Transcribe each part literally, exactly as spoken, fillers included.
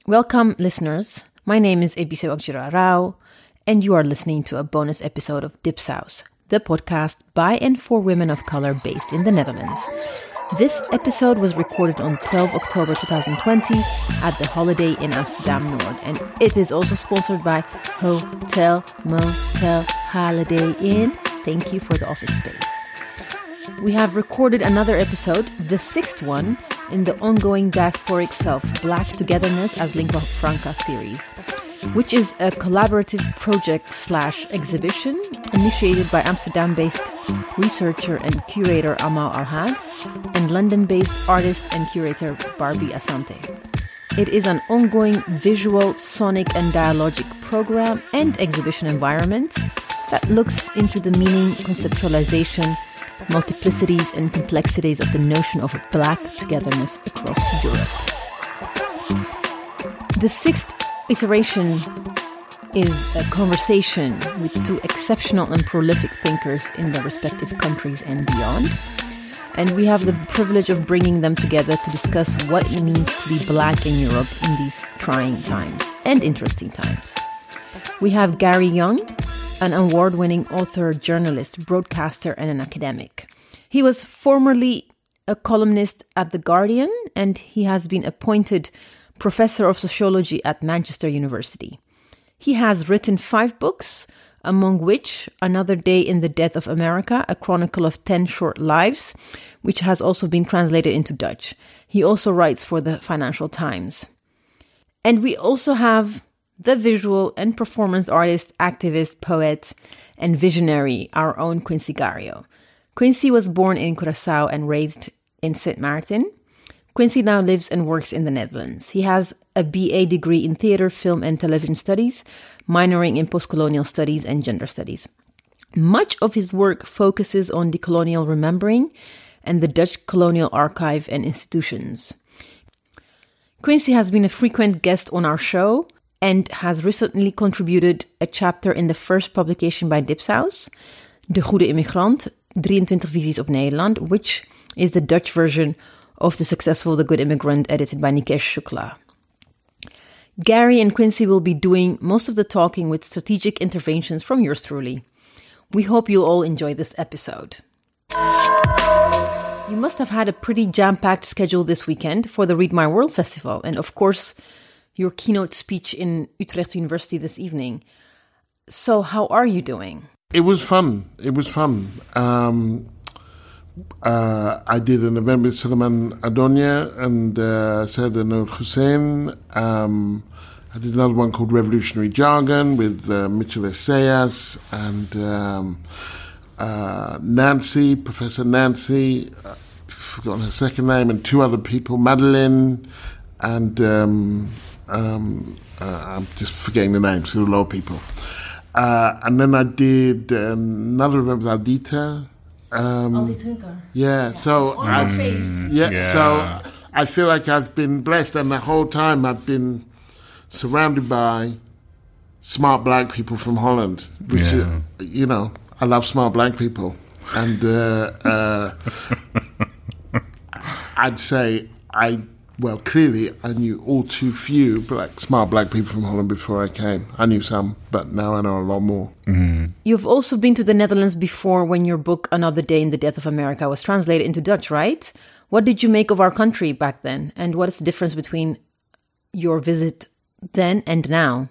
Welcome, listeners. My name is Ebise Ogjira Rao, and you are listening to a bonus episode of Dipsaus, the podcast by and for women of color based in the Netherlands. This episode was recorded on the twelfth of October twenty twenty at the Holiday Inn Amsterdam Noord, and it is also sponsored by Hotel Motel Holiday Inn. Thank you for the office space. We have recorded another episode, the sixth one, in the ongoing Diasporic Self, Black Togetherness as Lingua Franca series, which is a collaborative project slash exhibition initiated by Amsterdam-based researcher and curator Amal Al-Hag and London-based artist and curator Barbie Asante. It is an ongoing visual, sonic and dialogic program and exhibition environment that looks into the meaning, conceptualization, multiplicities and complexities of the notion of Black togetherness across Europe. The sixth iteration is a conversation with two exceptional and prolific thinkers in their respective countries and beyond. And we have the privilege of bringing them together to discuss what it means to be Black in Europe in these trying times and interesting times. We have Gary Young, an award-winning author, journalist, broadcaster, and an academic. He was formerly a columnist at The Guardian, and he has been appointed professor of sociology at Manchester University. He has written five books, among which Another Day in the Death of America, a chronicle of ten short lives, which has also been translated into Dutch. He also writes for the Financial Times. And we also have the visual and performance artist, activist, poet, and visionary, our own Quincy Gario. Quincy was born in Curaçao and raised in Saint Maarten. Quincy now lives and works in the Netherlands. He has a B A degree in theater, film, and television studies, minoring in postcolonial studies and gender studies. Much of his work focuses on decolonial remembering and the Dutch colonial archive and institutions. Quincy has been a frequent guest on our show and has recently contributed a chapter in the first publication by Dipsaus, De Goede Immigrant, drieëntwintig Visies op Nederland, which is the Dutch version of the successful The Good Immigrant, edited by Nikesh Shukla. Gary and Quincy will be doing most of the talking with strategic interventions from yours truly. We hope you'll all enjoy this episode. You must have had a pretty jam-packed schedule this weekend for the Read My World Festival, and of course, your keynote speech in Utrecht University this evening. So how are you doing? It was fun. It was fun. Um, uh, I did an event with Suleiman Adonia and uh, Saad Noor Hussein. Um, I did another one called Revolutionary Jargon with uh, Mitchell Essayas and um, uh, Nancy, Professor Nancy, I've forgotten her second name, and two other people, Madeline and... Um, Um, uh, I'm just forgetting the names, there were a lot of people. Uh, and then I did another event with Aldita. Um, Aldita Hunker. Yeah, yeah. so I've, mm, yeah, yeah. so I feel like I've been blessed, and the whole time I've been surrounded by smart Black people from Holland, which yeah. is, you know, I love smart Black people, and uh, uh, I'd say I. Well, clearly, I knew all too few black, smart Black people from Holland before I came. I knew some, but now I know a lot more. Mm-hmm. You've also been to the Netherlands before when your book, Another Day in the Death of America, was translated into Dutch, right? What did you make of our country back then? And what is the difference between your visit then and now?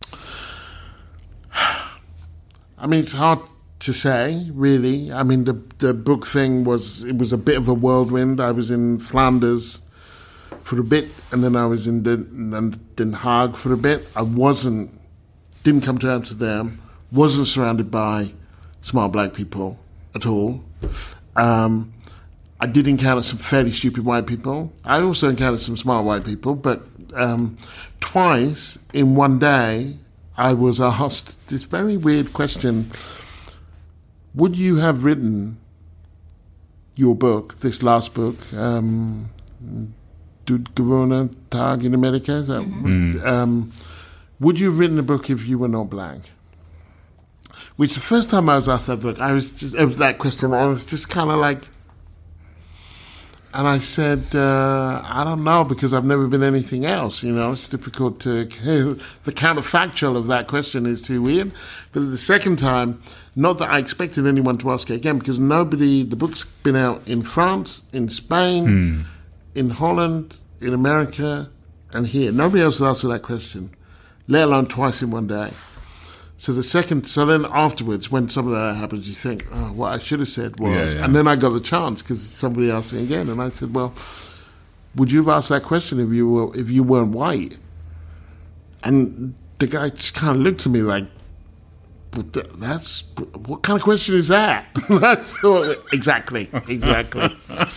I mean, it's hard to say, really. I mean, the the book thing was, it was a bit of a whirlwind. I was in Flanders for a bit, and then I was in Den, Den Haag for a bit. I wasn't, didn't come to Amsterdam, wasn't surrounded by smart Black people at all. Um, I did encounter some fairly stupid white people. I also encountered some smart white people, but um, twice in one day, I was asked this very weird question: would you have written your book, this last book, um, Doet gewone Tag in America? Is that, mm-hmm. um, would you have written a book if you were not Black? Which the first time I was asked that book, I was just, it was that question, I was just kind of like, And I said, uh, I don't know, because I've never been anything else. You know, it's difficult to... The counterfactual of that question is too weird. But the second time, not that I expected anyone to ask it again, because nobody... The book's been out in France, in Spain, hmm. in Holland, in America, and here. Nobody else has asked that question, let alone twice in one day. So the second, so then afterwards, when some of that happens, you think, oh, what I should have said was, yeah, yeah. and then I got the chance because somebody asked me again, and I said, well, would you have asked that question if you were if you weren't white? And the guy just kind of looked at me like, but th- that's what kind of question is that? I thought, exactly, exactly.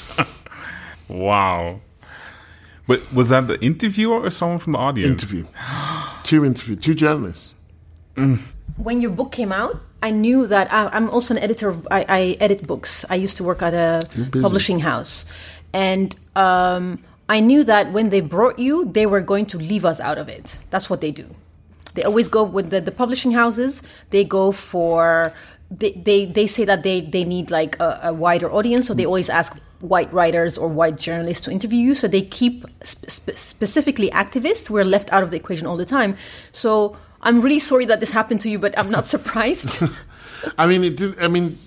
Wow. But was that the interviewer or someone from the audience? Interview. two interview, two journalists. Mm. When your book came out, I knew that I, I'm also an editor. Of, I, I edit books. I used to work at a publishing house. And um, I knew that when they brought you, they were going to leave us out of it. That's what they do. They always go with the, the publishing houses. They go for... They, they, they say that they, they need like a, a wider audience. So they always ask white writers or white journalists to interview you. So they keep spe- specifically activists who are left out of the equation all the time. So... I'm really sorry that this happened to you, but I'm not surprised. I mean, it did, I mean,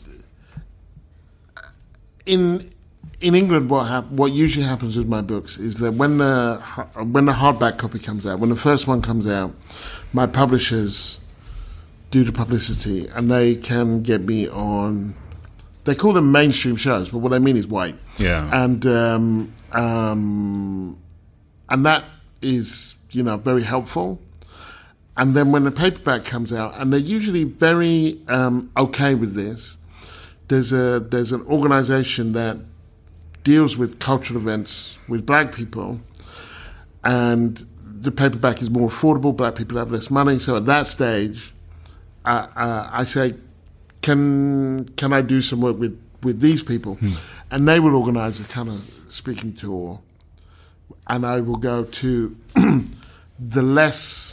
in in England, what hap- what usually happens with my books is that when the when the hardback copy comes out, when the first one comes out, my publishers do the publicity, and they can get me on. They call them mainstream shows, but what I mean is white. Yeah, and um, um, and that is, you know, very helpful. And then when the paperback comes out, and they're usually very um, okay with this, there's a there's an organisation that deals with cultural events with black people, and the paperback is more affordable. Black people have less money, so at that stage, uh, uh, I say, can can I do some work with, with these people? Hmm. And they will organise a kind of speaking tour, and I will go to the less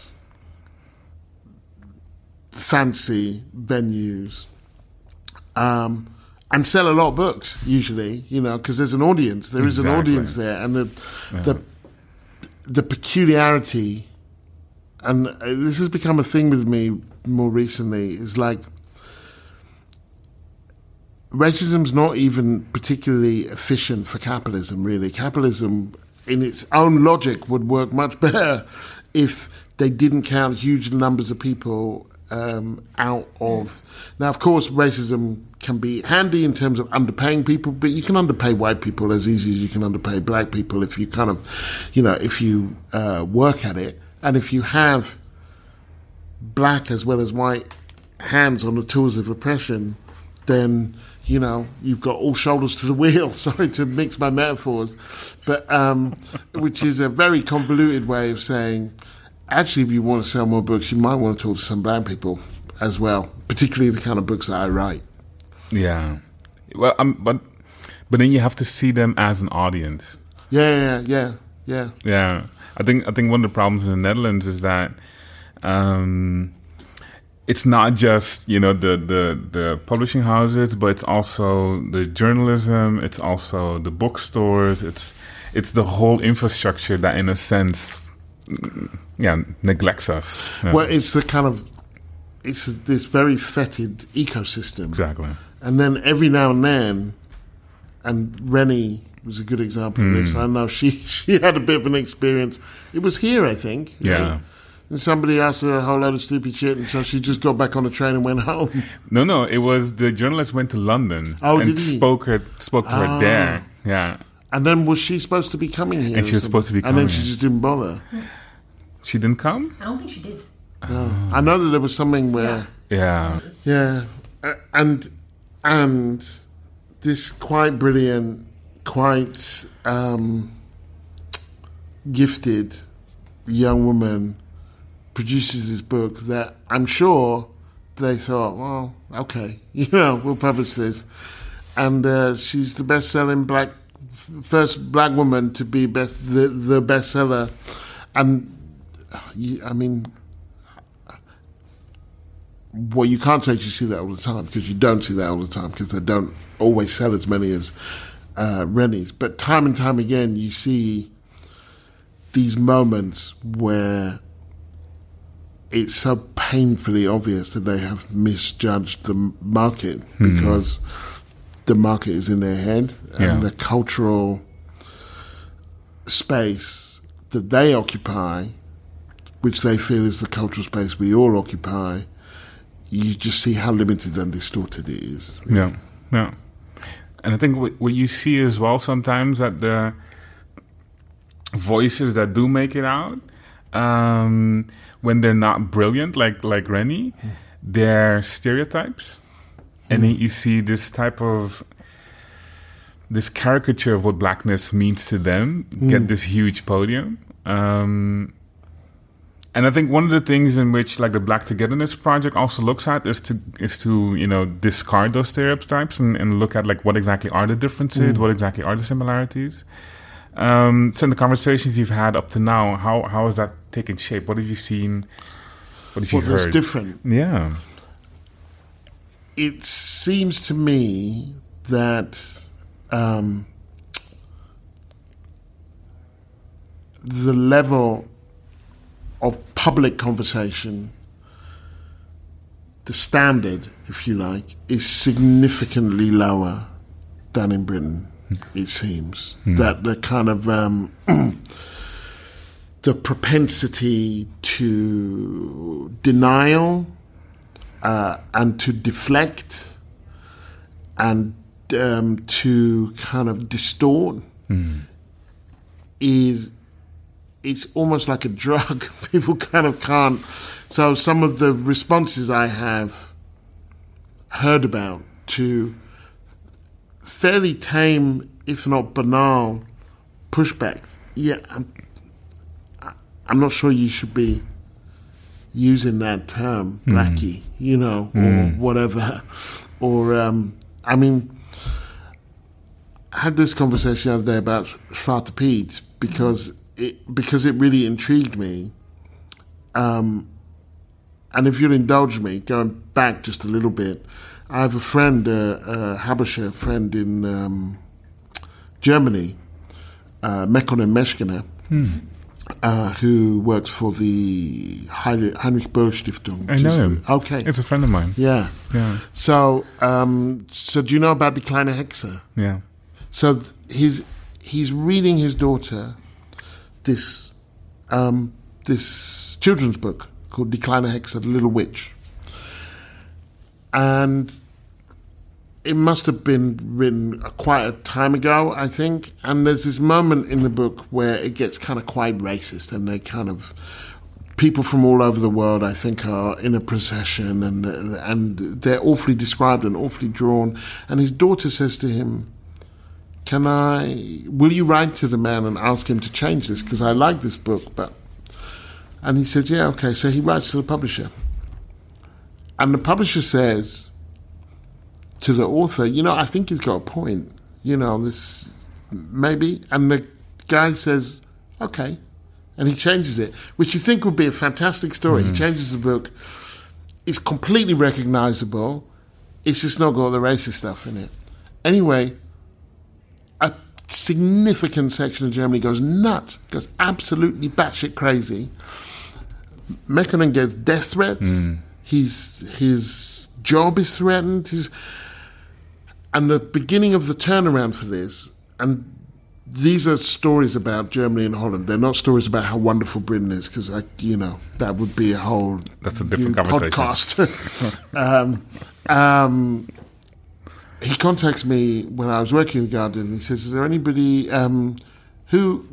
fancy venues, um, and sell a lot of books, usually, you know, because there's an audience. There exactly. is an audience there, and the yeah. the the peculiarity, and this has become a thing with me more recently, is like racism's not even particularly efficient for capitalism, really. Capitalism, in its own logic, would work much better if they didn't count huge numbers of people Um, out of... Now, of course, racism can be handy in terms of underpaying people, but you can underpay white people as easy as you can underpay black people if you kind of, you know, if you uh, work at it. And if you have black as well as white hands on the tools of oppression, then, you know, you've got all shoulders to the wheel. Sorry to mix my metaphors, but um, which is a very convoluted way of saying... Actually, if you want to sell more books, you might want to talk to some black people as well, particularly the kind of books that I write. Yeah, well, um, but but then you have to see them as an audience. Yeah, yeah, yeah, yeah. Yeah, I think I think one of the problems in the Netherlands is that um, it's not just, you know, the, the the publishing houses, but it's also the journalism. It's also the bookstores. It's it's the whole infrastructure that, in a sense, yeah, neglects us. Yeah. Well, it's the kind of, it's this very fetid ecosystem. Exactly. And then every now and then, and Rennie was a good example mm. of this. I know she, she had a bit of an experience. It was here, I think. Yeah. Right? And somebody asked her a whole load of stupid shit, and so she just got back on the train and went home. No, no, it was the journalist went to London oh, and did he? spoke her spoke to ah. her there. Yeah. And then was she supposed to be coming here? And she was supposed to be coming And then she here. just didn't bother. She didn't come? I don't think she did. No. I know that there was something where... Yeah. Yeah. Uh, and and this quite brilliant, quite um, gifted young woman produces this book that I'm sure they thought, well, okay, you know, we'll publish this. And uh, she's the best-selling black, first black woman to be best the, the bestseller. And, I mean, well, you can't say you see that all the time, because you don't see that all the time, because they don't always sell as many as uh, Rennie's. But time and time again, you see these moments where it's so painfully obvious that they have misjudged the market mm. because the market is in their head and yeah. the cultural space that they occupy, which they feel is the cultural space we all occupy, you just see how limited and distorted it is. Really. Yeah, yeah. And I think what, what you see as well sometimes that the voices that do make it out, um, when they're not brilliant, like like Rennie, mm. they're stereotypes. Mm. And then you see this type of, this caricature of what blackness means to them mm. get this huge podium. Um, and I think one of the things in which like the Black Togetherness Project also looks at is to is to you know discard those stereotypes and, and look at like what exactly are the differences, mm. what exactly are the similarities. Um, so in the conversations you've had up to now, how how has that taken shape? What have you seen? What have you what heard? What's different? Yeah, it seems to me that um, the level of public conversation, the standard, if you like, is significantly lower than in Britain, it seems. Mm. That the kind of um, the propensity to denial uh, and to deflect and um, to kind of distort mm. is it's almost like a drug. People kind of can't. So some of the responses I have heard about to fairly tame, if not banal, pushbacks. Yeah, I'm, I'm not sure you should be using that term, blackie, mm. you know, mm. or whatever. Or, um, I mean, I had this conversation the other day about Zwarte Piet because it, because it really intrigued me. Um, and if you'll indulge me, going back just a little bit, I have a friend, uh, a Habesha friend in um, Germany, uh, Mekonnen Meshkiner, hmm. uh, who works for the Heinrich Böll Stiftung. I know him. Okay. It's a friend of mine. Yeah. Yeah. So, um, so do you know about Die Kleine Hexe? Yeah. So th- he's he's reading his daughter this um, this children's book called Die Kleine Hexe, The Little Witch. And it must have been written quite a time ago, I think. And there's this moment in the book where it gets kind of quite racist, and they kind of people from all over the world, I think, are in a procession, and and they're awfully described and awfully drawn. And his daughter says to him, "Can I? Will you write to the man and ask him to change this? Because I like this book, but." And he says, yeah, okay. So he writes to the publisher. And the publisher says to the author, you know, I think he's got a point. You know, this, maybe. And the guy says, okay. And he changes it, which you think would be a fantastic story. Mm. He changes the book. It's completely recognizable. It's just not got the racist stuff in it. Anyway, a significant section of Germany goes nuts, goes absolutely batshit crazy. Mekonnen gets death threats. Mm. His his job is threatened. His, and the beginning of the turnaround for this, and these are stories about Germany and Holland. They're not stories about how wonderful Britain is, because, you know, that would be a whole That's a different conversation. podcast. um, um, he contacts me when I was working in the Guardian. He says, is there anybody um, who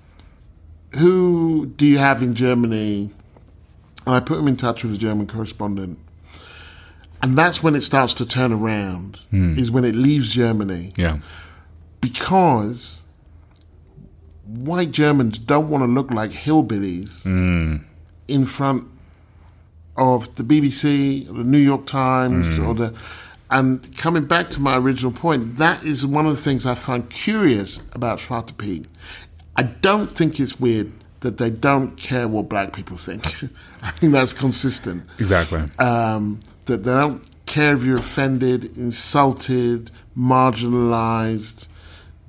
who do you have in Germany? And I put him in touch with a German correspondent. And that's when it starts to turn around, mm. is when it leaves Germany. Yeah. Because white Germans don't want to look like hillbillies mm. in front of the B B C, or the New York Times, mm. or the... And coming back to my original point, that is one of the things I find curious about Zwarte Piet. I don't think it's weird that they don't care what black people think. I think that's consistent. Exactly. Um, that they don't care if you're offended, insulted, marginalized,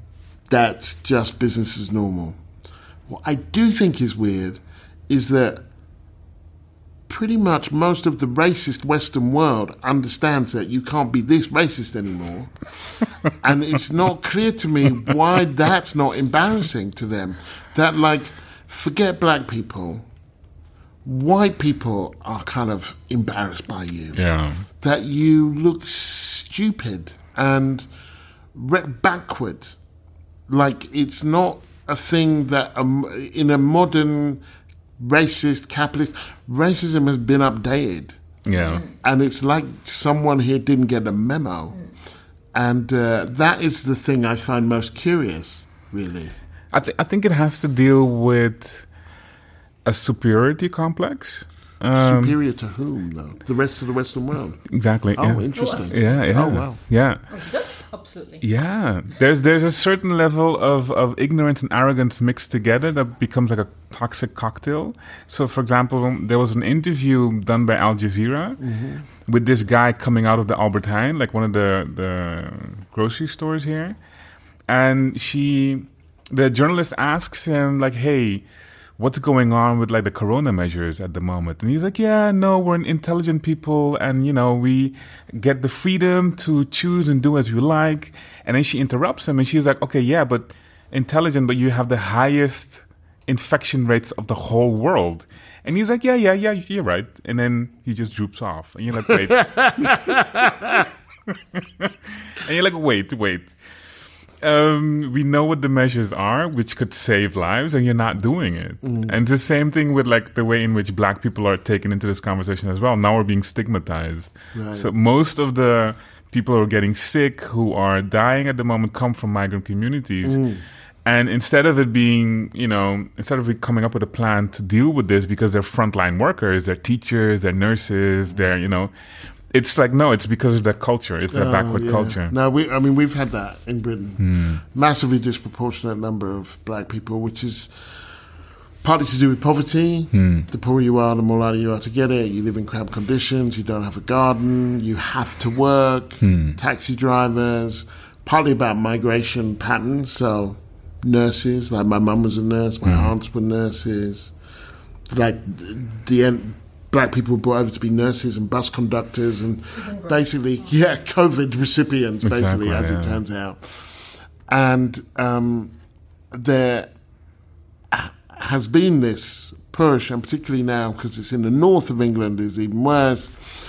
that's just business as normal. What I do think is weird is that pretty much most of the racist Western world understands that you can't be this racist anymore. And it's not clear to me why that's not embarrassing to them. That, like, forget black people, white people are kind of embarrassed by you. Yeah. That you look stupid and re- backward. Like, it's not a thing that um, in a modern racist, capitalist, racism has been updated. Yeah. And it's like someone here didn't get a memo. And uh, that is the thing I find most curious, really. I, th- I think it has to deal with a superiority complex. Um, Superior to whom, though? The rest of the Western world? Exactly. Oh, yeah. interesting. Yeah, yeah. Oh, wow. Yeah. Absolutely. Yeah. There's there's a certain level of, of ignorance and arrogance mixed together that becomes like a toxic cocktail. So, for example, there was an interview done by Al Jazeera mm-hmm. with this guy coming out of the Albert Heijn, like one of the, the grocery stores here. And she, the journalist asks him, like, hey, what's going on with like the corona measures at the moment? And he's like, yeah, no, we're an intelligent people and, you know, we get the freedom to choose and do as we like. And then she interrupts him and she's like, okay, yeah, but intelligent, but you have the highest infection rates of the whole world. And he's like, yeah, yeah, yeah, you're right. And then he just droops off. And you're like, wait. And you're like, wait, wait. Um, we know what the measures are, which could save lives, and you're not doing it. Mm. And it's the same thing with like the way in which black people are taken into this conversation as well. Now we're being stigmatized. Right. So most of the people who are getting sick, who are dying at the moment, come from migrant communities. Mm. And instead of it being, you know, instead of it coming up with a plan to deal with this because they're frontline workers, they're teachers, they're nurses, mm. they're, you know, it's like, no, it's because of their culture. It's their oh, backward yeah. culture. No, we, I mean, we've had that in Britain. Mm. Massively disproportionate number of black people, which is partly to do with poverty. Mm. The poorer you are, the more likely you are to get it. You live in cramped conditions. You don't have a garden. You have to work. Mm. Taxi drivers. Partly about migration patterns. So nurses, like my mum was a nurse. My mm. aunts were nurses. Like the end... Black people were brought over to be nurses and bus conductors and basically, yeah, COVID recipients, basically, exactly, as yeah. it turns out. And um, there has been this push, and particularly now, because it's in the north of England, is even worse.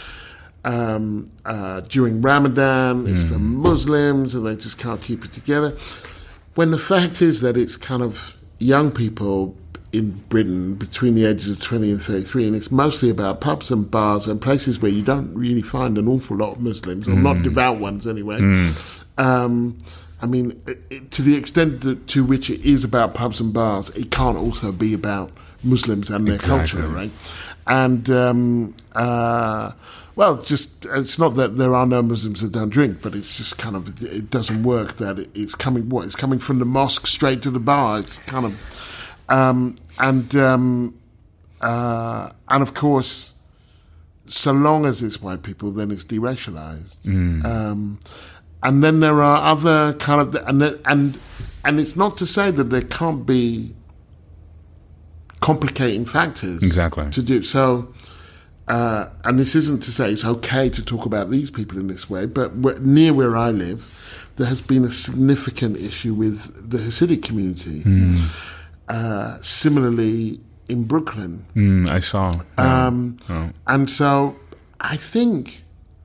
Um, uh, during Ramadan, it's mm. the Muslims, and they just can't keep it together. When the fact is that it's kind of young people in Britain between the ages of twenty and thirty-three, and it's mostly about pubs and bars and places where you don't really find an awful lot of Muslims, or mm. not devout ones anyway. Mm. Um, I mean, it, to the extent that, to which it is about pubs and bars, it can't also be about Muslims and their exactly. culture, right? And, um, uh, well, just it's not that there are no Muslims that don't drink, but it's just kind of, it doesn't work that it, it's coming, what, it's coming from the mosque straight to the bar. It's kind of... Um, and um, uh, and of course, so long as it's white people, then it's deracialized. Mm. Um, and then there are other kind of and and and it's not to say that there can't be complicating factors exactly to do so. Uh, and this isn't to say it's okay to talk about these people in this way, but where, near where I live, there has been a significant issue with the Hasidic community. Mm. Uh, similarly, in Brooklyn. Mm, I saw. Yeah. Um, oh. And so I think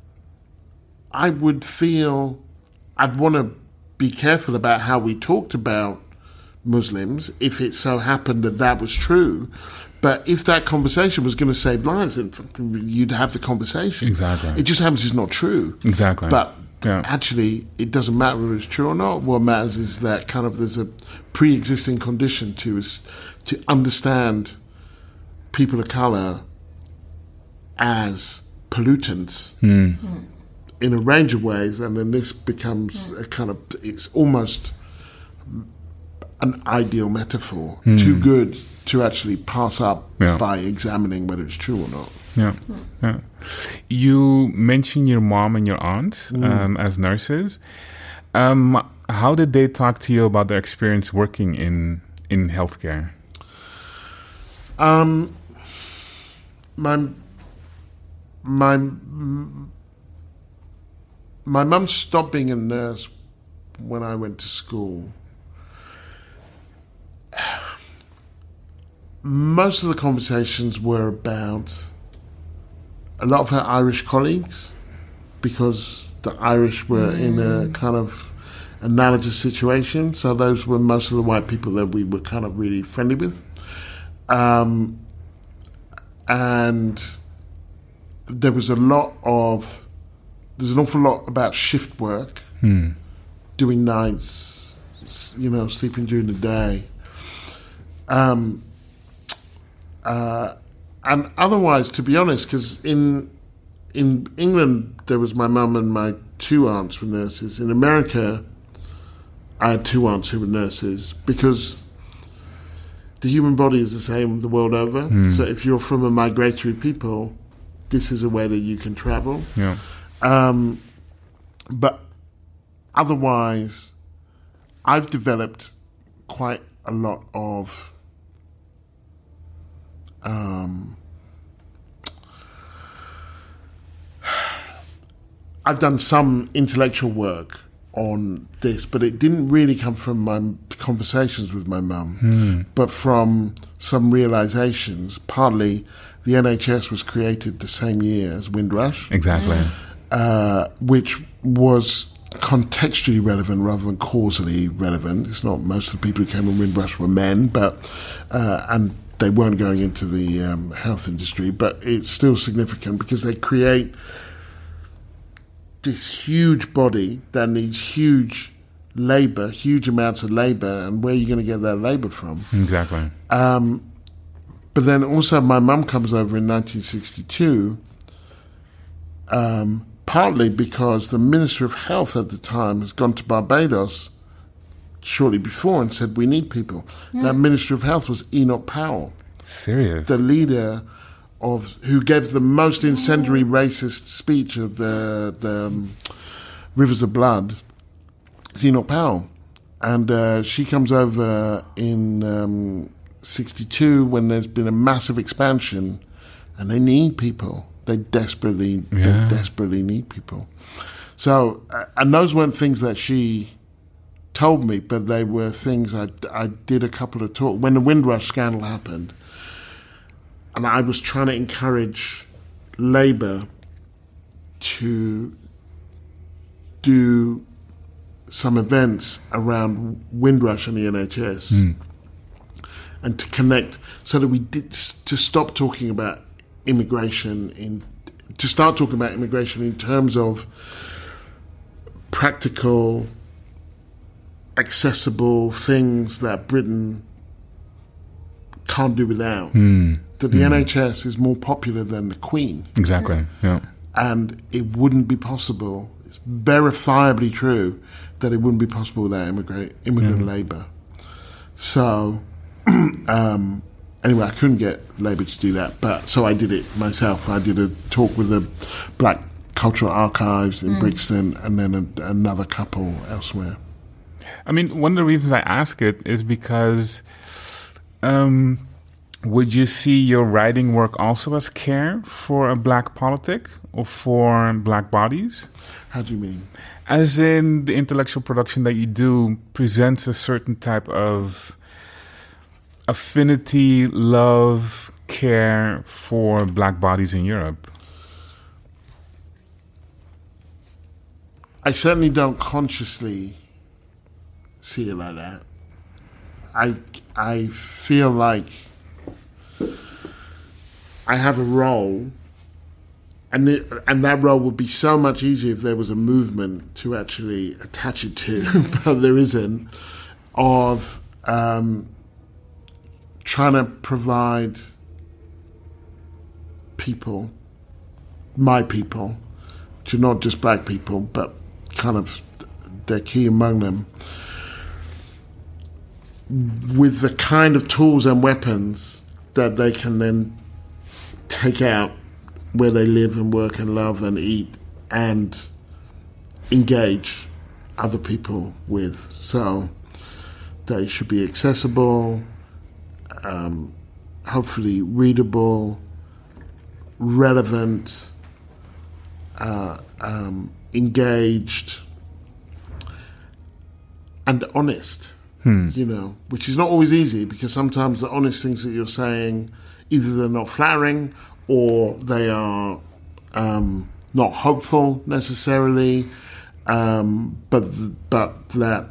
I would feel I'd want to be careful about how we talked about Muslims if it so happened that that was true. But if that conversation was going to save lives, then you'd have the conversation. Exactly. It just happens it's not true. Exactly. But yeah. actually, it doesn't matter whether it's true or not. What matters is that kind of there's a pre-existing condition to us to understand people of colour as pollutants mm. in a range of ways, and then this becomes a kind of, it's almost an ideal metaphor, mm. too good to actually pass up yeah. by examining whether it's true or not. Yeah, yeah. You mentioned your mom and your aunt mm. um, as nurses. Um, How did they talk to you about their experience working in in healthcare? Um, my my my mum stopped being a nurse when I went to school. Most of the conversations were about a lot of her Irish colleagues, because the Irish were mm. in a kind of analogous situation. So those were most of the white people that we were kind of really friendly with. Um, and there was a lot of, there's an awful lot about shift work, hmm. doing nights, you know, sleeping during the day. Um, uh, and otherwise, to be honest, because in in England there was my mum and my two aunts were nurses. In America, I had two aunts who were nurses, because the human body is the same the world over. Mm. So if you're from a migratory people, this is a way that you can travel. Yeah. Um, but otherwise, I've developed quite a lot of um, I've done some intellectual work on this, but it didn't really come from my conversations with my mum, mm. but from some realizations. Partly, the N H S was created the same year as Windrush. Exactly. Uh, which was contextually relevant rather than causally relevant. It's not most of the people who came on Windrush were men, but uh, and they weren't going into the um, health industry, but it's still significant because they create this huge body that needs huge labour, huge amounts of labour, and where are you going to get that labour from? Exactly. Um, but then also my mum comes over in nineteen sixty-two, um, partly because the Minister of Health at the time has gone to Barbados shortly before and said, we need people. Yeah. That Minister of Health was Enoch Powell. Serious? The leader of who gave the most incendiary racist speech of the, the um, Rivers of Blood, Enoch Powell. And uh, she comes over in um, sixty-two when there's been a massive expansion and they need people. They desperately, yeah. they desperately need people. So, uh, and those weren't things that she told me, but they were things I, I did a couple of talks. When the Windrush scandal happened, and I was trying to encourage Labour to do some events around Windrush and the N H S mm. and to connect so that we did to stop talking about immigration in to start talking about immigration in terms of practical, accessible things that Britain can't do without. Mm. That the mm. N H S is more popular than the Queen. Exactly, yeah. And it wouldn't be possible, it's verifiably true, that it wouldn't be possible without immigrant, immigrant yeah. labour. So, um, anyway, I couldn't get Labour to do that, but so I did it myself. I did a talk with the Black Cultural Archives in mm. Brixton and then a, another couple elsewhere. I mean, one of the reasons I ask it is because um, would you see your writing work also as care for a black politic or for black bodies? How do you mean? As in the intellectual production that you do presents a certain type of affinity, love, care for black bodies in Europe. I certainly don't consciously see it like that. I, I feel like I have a role, and the, and that role would be so much easier if there was a movement to actually attach it to, but there isn't, of um, trying to provide people, my people, to not just black people, but kind of they're key among them, with the kind of tools and weapons that they can then take out where they live and work and love and eat and engage other people with. So they should be accessible, um, hopefully readable, relevant, uh, um, engaged, and honest. Hmm. You know, which is not always easy, because sometimes the honest things that you're saying, either they're not flattering or they are um, not hopeful necessarily, um, but but that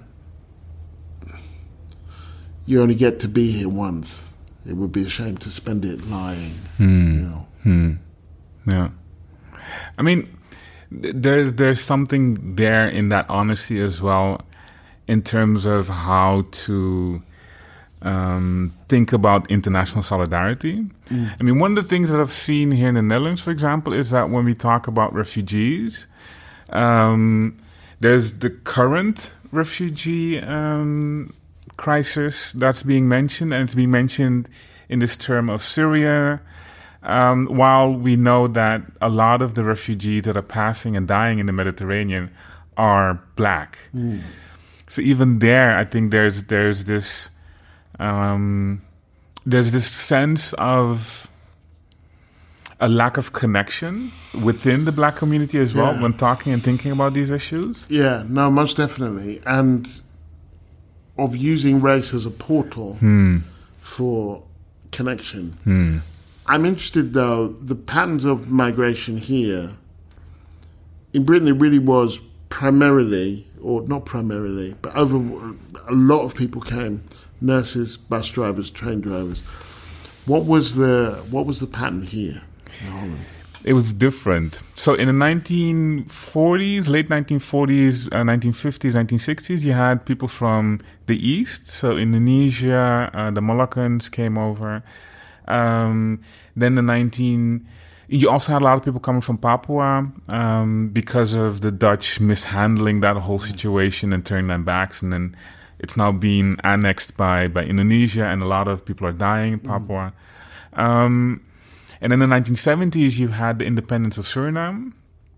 you only get to be here once. It would be a shame to spend it lying. Hmm. You know? Hmm. Yeah. I mean, th- there's there's something there in that honesty as well, in terms of how to um, think about international solidarity. Mm. I mean, one of the things that I've seen here in the Netherlands, for example, is that when we talk about refugees, um, there's the current refugee um, crisis that's being mentioned, and it's being mentioned in this term of Syria, um, while we know that a lot of the refugees that are passing and dying in the Mediterranean are black. Mm. So even there, I think there's there's this um, there's this sense of a lack of connection within the black community as well, Yeah. when talking and thinking about these issues. Yeah, no, most definitely. And of using race as a portal Hmm. for connection. Hmm. I'm interested, though, the patterns of migration here. In Britain, it really was primarily, or not primarily, but over a lot of people came: nurses, bus drivers, train drivers. What was the what was the pattern here in Holland? It was different. So in the nineteen forties, late nineteen forties, uh, nineteen fifties, nineteen sixties, you had people from the East. So Indonesia, uh, the Moluccans came over. Um, then the nineteen... You also had a lot of people coming from Papua um, because of the Dutch mishandling that whole situation and turning their backs. And then it's now being annexed by, by Indonesia, and a lot of people are dying in Papua. Mm. Um, and in the nineteen seventies, you had the independence of Suriname.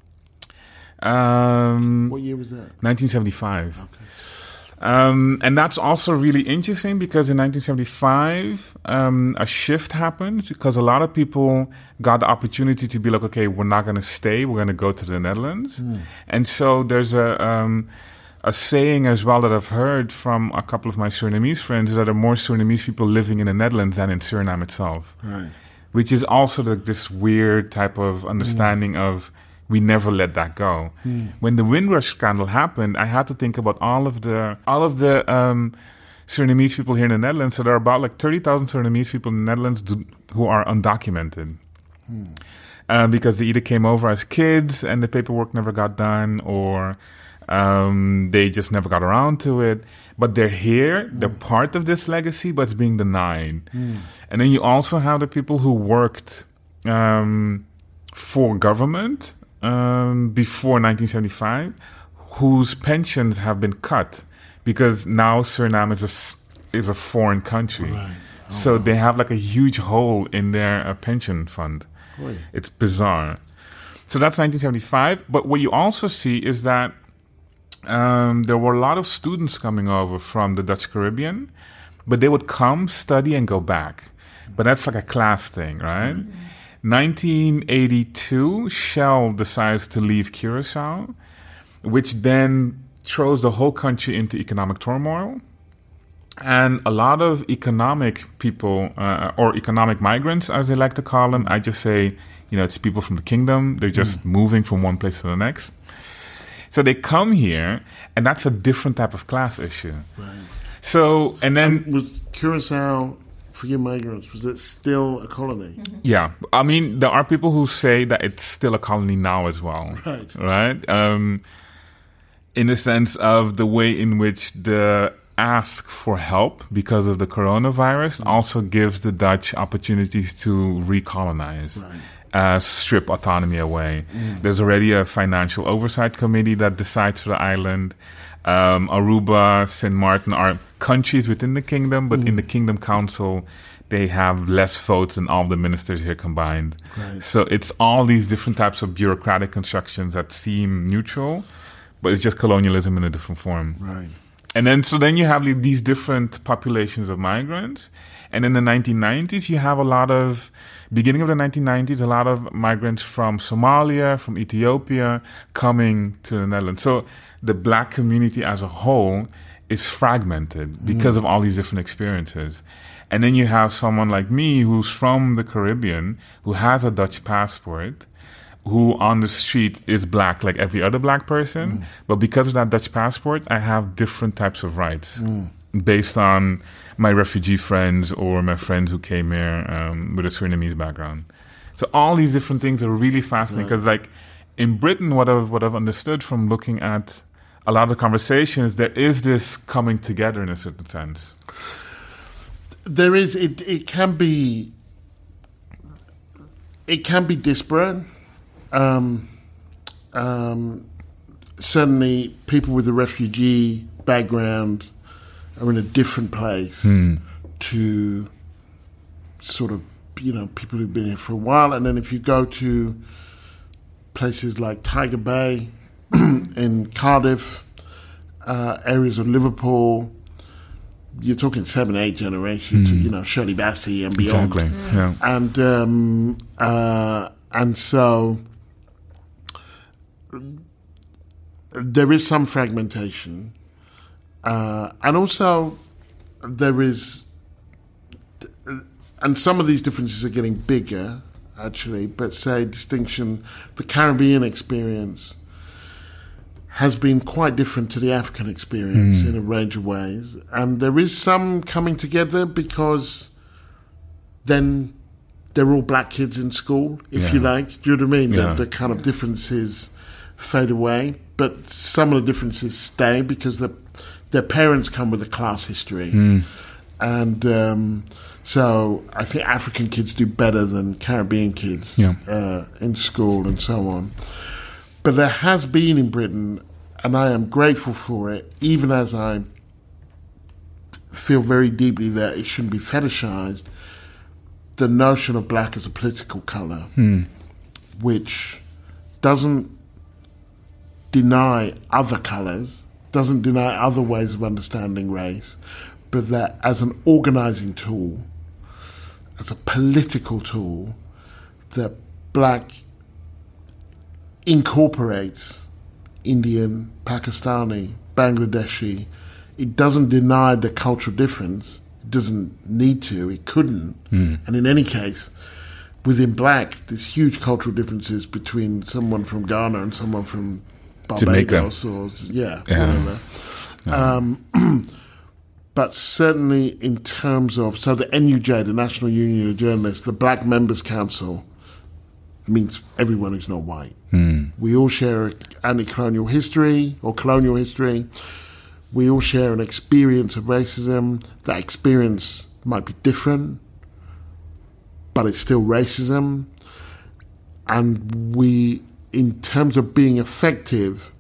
Um, What year was that? nineteen seventy-five. Okay. Um, and that's also really interesting, because in nineteen seventy-five, um, a shift happened, because a lot of people got the opportunity to be like, okay, we're not going to stay, we're going to go to the Netherlands. Mm. And so there's a um, a saying as well that I've heard from a couple of my Surinamese friends, is that there are more Surinamese people living in the Netherlands than in Suriname itself. Right. Which is also the, this weird type of understanding mm. of, we never let that go. Mm. When the Windrush scandal happened, I had to think about all of the all of the um, Surinamese people here in the Netherlands. So there are about like thirty thousand Surinamese people in the Netherlands do, who are undocumented. Mm. Uh, because they either came over as kids and the paperwork never got done, or um, they just never got around to it. But they're here, mm. they're part of this legacy, but it's being denied. Mm. And then you also have the people who worked um, for government Um, before nineteen seventy-five, whose pensions have been cut, because now Suriname is a, is a foreign country. Right. Oh, so wow. They have like a huge hole in their uh, pension fund. Boy. It's bizarre. So that's nineteen seventy-five. But what you also see is that um, there were a lot of students coming over from the Dutch Caribbean, but they would come, study, and go back. But that's like a class thing, right? Mm-hmm. nineteen eighty-two, Shell decides to leave Curaçao, which then throws the whole country into economic turmoil. And a lot of economic people, uh, or economic migrants, as they like to call them, I just say, you know, it's people from the kingdom. They're just mm. moving from one place to the next. So they come here, and that's a different type of class issue. Right. So, and then... And was Curaçao... Forgive my ignorance, was it still a colony? Mm-hmm. Yeah. I mean, there are people who say that it's still a colony now as well. Right. Right? Um, in the sense of the way in which the ask for help because of the coronavirus mm. also gives the Dutch opportunities to recolonize, right. uh, strip autonomy away. Mm. There's already a financial oversight committee that decides for the island. Um, Aruba, Saint Martin are countries within the kingdom, but mm. in the Kingdom Council, they have less votes than all the ministers here combined. Right. So it's all these different types of bureaucratic constructions that seem neutral, but it's just colonialism in a different form. Right. And then, so then you have these different populations of migrants. And in the nineteen nineties, you have a lot of, beginning of the nineteen nineties, a lot of migrants from Somalia, from Ethiopia, coming to the Netherlands. So the black community as a whole is fragmented because mm. of all these different experiences. And then you have someone like me who's from the Caribbean, who has a Dutch passport, who on the street is black like every other black person. Mm. But because of that Dutch passport, I have different types of rights mm. based on my refugee friends or my friends who came here um, with a Surinamese background. So all these different things are really fascinating because right. like in Britain, what I've, what I've understood from looking at a lot of conversations, there is this coming together in a certain sense. There is, it, it can be, it can be disparate. Um, um, certainly, people with a refugee background are in a different place mm. to sort of, you know, people who've been here for a while. And then if you go to places like Tiger Bay in Cardiff, uh, areas of Liverpool, you're talking seven, eight generations, mm. you know, Shirley Bassey and beyond. Exactly, mm. yeah. And, um, uh, and so there is some fragmentation, uh, and also there is, and some of these differences are getting bigger, actually, but say distinction, the Caribbean experience has been quite different to the African experience mm. in a range of ways, and there is some coming together because then they're all black kids in school, if yeah. you like. Do you know what I mean? Yeah. The, the kind of differences fade away, but some of the differences stay because the, their parents come with a class history. Mm. And um, so I think African kids do better than Caribbean kids yeah. uh, in school and so on. But there has been in Britain, and I am grateful for it, even as I feel very deeply that it shouldn't be fetishized, the notion of black as a political colour, mm. which doesn't deny other colours, doesn't deny other ways of understanding race, but that as an organising tool, as a political tool, that black incorporates Indian, Pakistani, Bangladeshi. It doesn't deny the cultural difference. It doesn't need to. It couldn't. Mm. And in any case, within black, there's huge cultural differences between someone from Ghana and someone from Barbados or yeah, yeah. whatever. No. Um, but certainly in terms of, so the N U J, the National Union of Journalists, the Black Members Council, means everyone who's not white. Mm. We all share an anti-colonial history or colonial history. We all share an experience of racism. That experience might be different, but it's still racism. And we, in terms of being effective,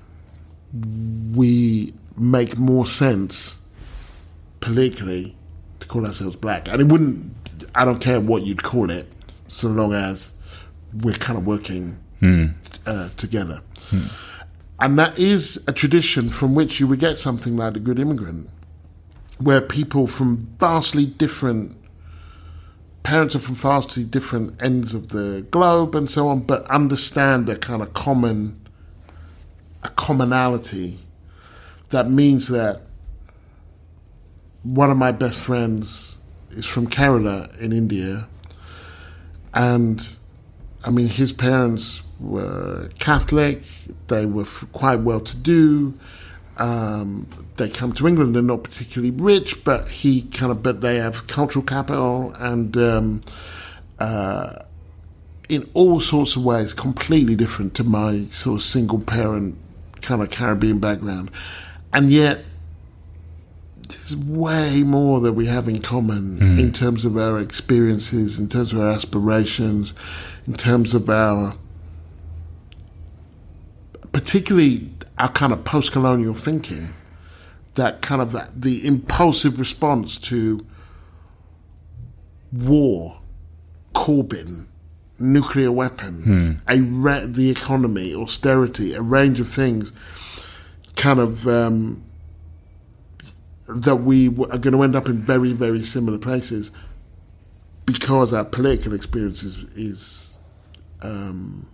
we make more sense politically to call ourselves black. And it wouldn't, I don't care what you'd call it, so long as we're kind of working mm. uh, together. Mm. And that is a tradition from which you would get something like The Good Immigrant, where people from vastly different, parents are from vastly different ends of the globe and so on, but understand a kind of common, a commonality that means that one of my best friends is from Kerala in India, and I mean, his parents were Catholic, they were quite well-to-do, um, they come to England, they're not particularly rich, but he kind of, but they have cultural capital, and um, uh, in all sorts of ways, completely different to my sort of single-parent kind of Caribbean background. And yet, there's way more that we have in common mm. in terms of our experiences, in terms of our aspirations, in terms of our, particularly our kind of post-colonial thinking, that kind of that, the impulsive response to war, Corbyn, nuclear weapons, mm. a ra- the economy, austerity, a range of things kind of um, that we are going to end up in very, very similar places because our political experience is, is um,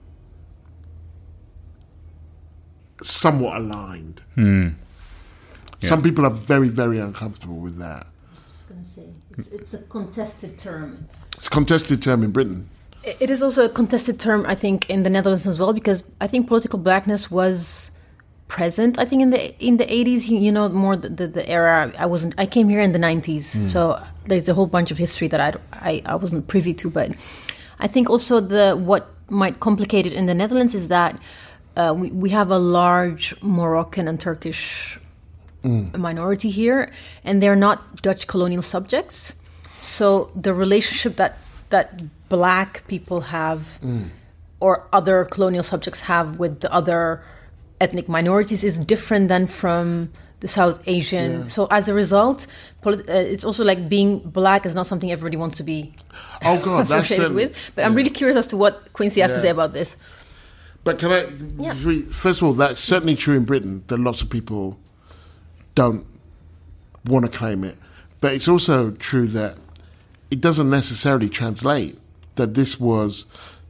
somewhat aligned. Mm. Yeah. Some people are very, very uncomfortable with that. Going to say it's, it's a contested term. It's a contested term in Britain. It is also a contested term, I think, in the Netherlands as well, because I think political blackness was present. I think in the in the eighties, you know, more the, the, the era. I wasn't. I came here in the nineties, mm. so there's a whole bunch of history that I, I I wasn't privy to. But I think also the what might complicate it in the Netherlands is that uh, we we have a large Moroccan and Turkish Mm. minority here, and they're not Dutch colonial subjects. So the relationship that that black people have mm. or other colonial subjects have with the other ethnic minorities is different than from the South Asian. Yeah. So as a result, polit- uh, it's also like being black is not something everybody wants to be oh God, associated that's, with. But yeah. I'm really curious as to what Quincy has yeah. to say about this. But can I, yeah. first of all, that's certainly true in Britain, that lots of people don't want to claim it. But it's also true that it doesn't necessarily translate, that this was,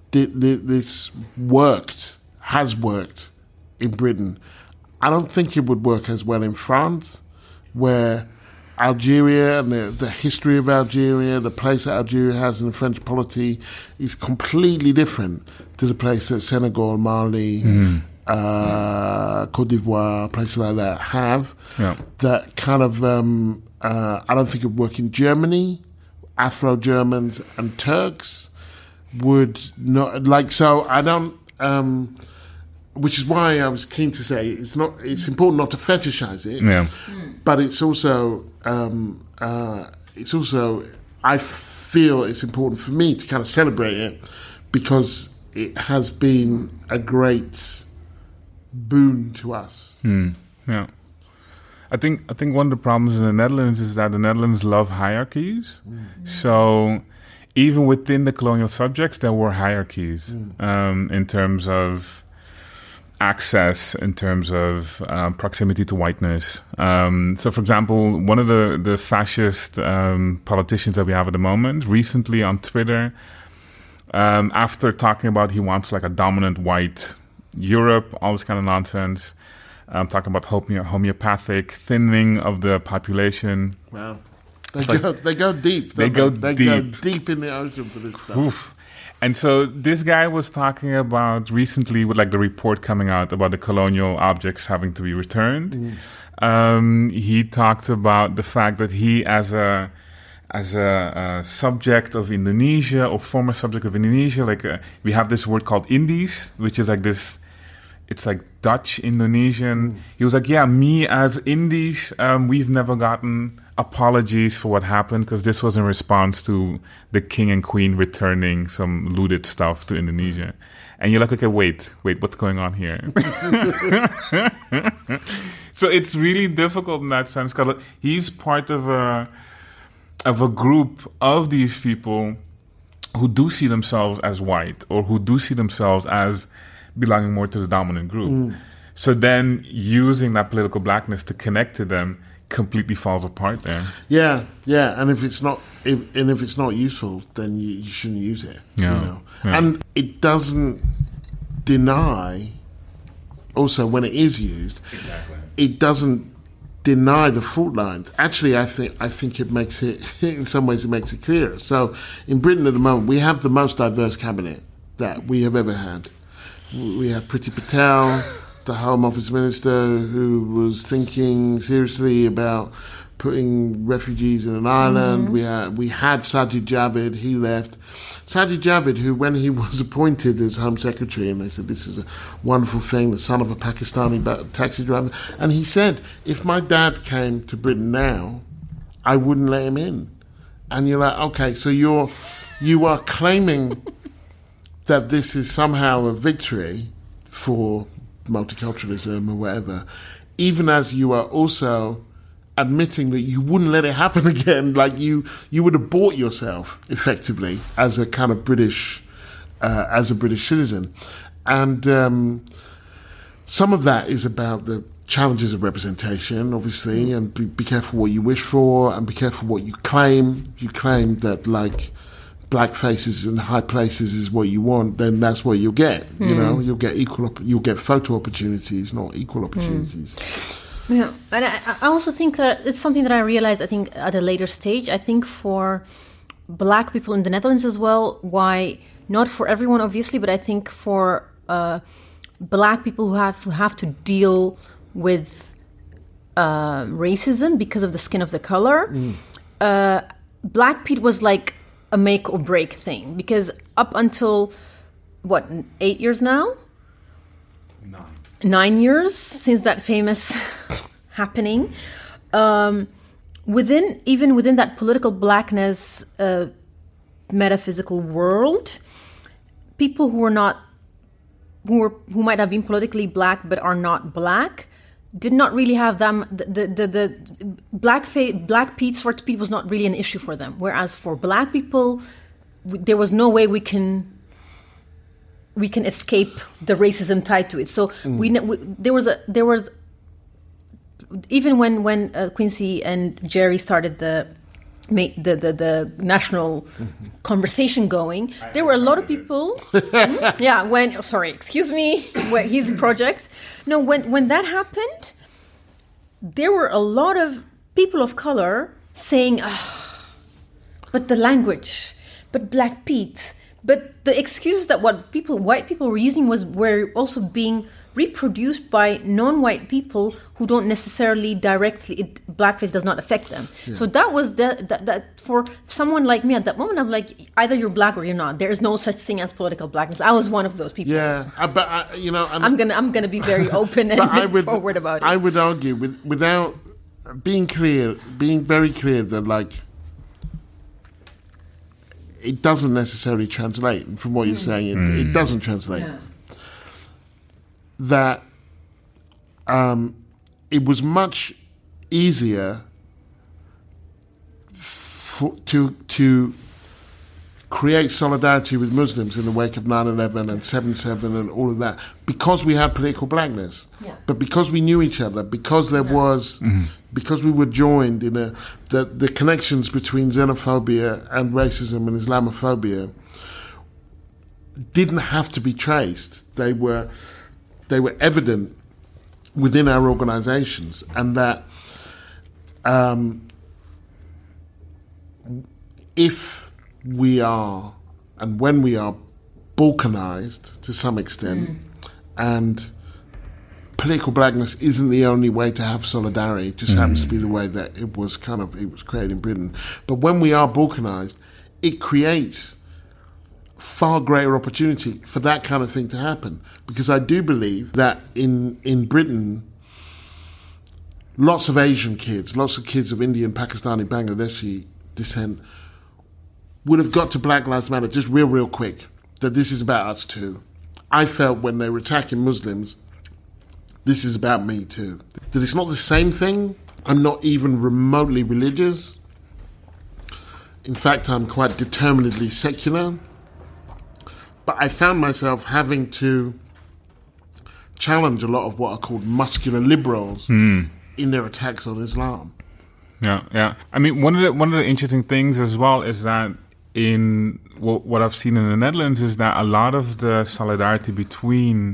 this worked, has worked in Britain. I don't think it would work as well in France, where Algeria and the, the history of Algeria, the place that Algeria has in the French polity is completely different to the place that Senegal, Mali, mm. uh, Côte d'Ivoire, places like that have. Yeah. That kind of, um, uh, I don't think it would work in Germany. Afro-Germans and Turks would not, like, so I don't, um, which is why I was keen to say it's not. It's important not to fetishize it, yeah. but it's also um, uh, it's also I feel it's important for me to kind of celebrate it because it has been a great boon to us. Mm. Yeah, I think I think one of the problems in the Netherlands is that the Netherlands love hierarchies. Mm. So even within the colonial subjects, there were hierarchies mm. um, in terms of access, in terms of uh, proximity to whiteness. Um, so, for example, one of the, the fascist um, politicians that we have at the moment, recently on Twitter, um, after talking about he wants like a dominant white Europe, all this kind of nonsense, um, talking about home- homeopathic thinning of the population. Wow. They, like, go, they go deep. They go they? deep. They go deep in the ocean for this stuff. Oof. And so this guy was talking about recently with like the report coming out about the colonial objects having to be returned. Mm. Um, he talked about the fact that he, as a as a, a subject of Indonesia or former subject of Indonesia, like uh, we have this word called Indies, which is like this. It's like Dutch Indonesian. Mm. He was like, yeah, me as Indies, um, we've never gotten apologies for what happened because this was in response to the king and queen returning some looted stuff to Indonesia. And you're like, okay, wait, wait, what's going on here? So it's really difficult in that sense because he's part of a of a group of these people who do see themselves as white or who do see themselves as belonging more to the dominant group. Mm. So then using that political blackness to connect to them completely falls apart there. Yeah, yeah, and if it's not, if, and if it's not useful, then you, you shouldn't use it. Yeah. You know? Yeah. And it doesn't deny. Also, when it is used, exactly. it doesn't deny the fault lines. Actually, I think I think it makes it in some ways it makes it clearer. So, in Britain at the moment, we have the most diverse cabinet that we have ever had. We have Priti Patel, the Home Office Minister, who was thinking seriously about putting refugees in an island. Mm-hmm. We had we had Sajid Javid, he left. Sajid Javid, who when he was appointed as Home Secretary, and they said this is a wonderful thing, the son of a Pakistani taxi driver, and he said, if my dad came to Britain now, I wouldn't let him in. And you're like, okay, so you're you are claiming that this is somehow a victory for multiculturalism or whatever, even as you are also admitting that you wouldn't let it happen again, like you you would have bought yourself effectively as a kind of British, uh, as a British citizen. And um, some of that is about the challenges of representation, obviously, and be, be careful what you wish for, and be careful what you claim. You claim that, like, black faces in high places is what you want, then that's what you'll get. Mm. You know, you'll get equal, op- you'll get photo opportunities, not equal opportunities. Mm. Yeah, and I, I also think that it's something that I realized, I think, at a later stage. I think for black people in the Netherlands as well, why, not for everyone, obviously, but I think for uh, black people who have, who have to deal with uh, racism because of the skin of the color, mm. uh, Black Pete was like a make or break thing, because up until what eight years now, nine, nine years since that famous happening, um, within even within that political blackness uh, metaphysical world, people who were not who were who might have been politically black but are not black did not really have them. The the the, the black fa- black Pete sort of Pete was not really an issue for them. Whereas for black people, we, there was no way we can we can escape the racism tied to it. So mm. we, we there was a there was even when when uh, Quincy and Jerry started the the the, the national mm-hmm. conversation going, I there were a lot of people. mm, yeah, when sorry, excuse me, where his projects. No, when when that happened, there were a lot of people of color saying, oh, "But the language, but Black Pete." But the excuses that what people, white people were using was were also being reproduced by non-white people who don't necessarily directly, it, blackface does not affect them. Yeah. So that was the, that, that for someone like me at that moment, I'm like, either you're black or you're not. There is no such thing as political blackness. I was one of those people. Yeah, uh, but uh, you know, I'm, I'm gonna I'm gonna be very open and I would, forward about it. I would argue with, without being clear, being very clear that like. It doesn't necessarily translate. From what you're saying, it, mm. it doesn't translate. Yeah. That um, it was much easier for, to to create solidarity with Muslims in the wake of nine eleven and seven seven and all of that, because we had political blackness. Yeah. But because we knew each other, because there yeah. was, mm-hmm. because we were joined in a, the, the connections between xenophobia and racism and Islamophobia didn't have to be traced. They were, they were evident within our organizations, and that um, if we are, and when we are balkanized to some extent, mm. and political blackness isn't the only way to have solidarity, it just mm. happens to be the way that it was kind of, it was created in Britain. But when we are balkanized, it creates far greater opportunity for that kind of thing to happen. Because I do believe that in, in Britain, lots of Asian kids, lots of kids of Indian, Pakistani, Bangladeshi descent would have got to Black Lives Matter just real, real quick, that this is about us too. I felt when they were attacking Muslims, this is about me too. That it's not the same thing. I'm not even remotely religious. In fact, I'm quite determinedly secular. But I found myself having to challenge a lot of what are called muscular liberals mm. in their attacks on Islam. Yeah, yeah. I mean, one of the one of the interesting things as well is that in what, what I've seen in the Netherlands is that a lot of the solidarity between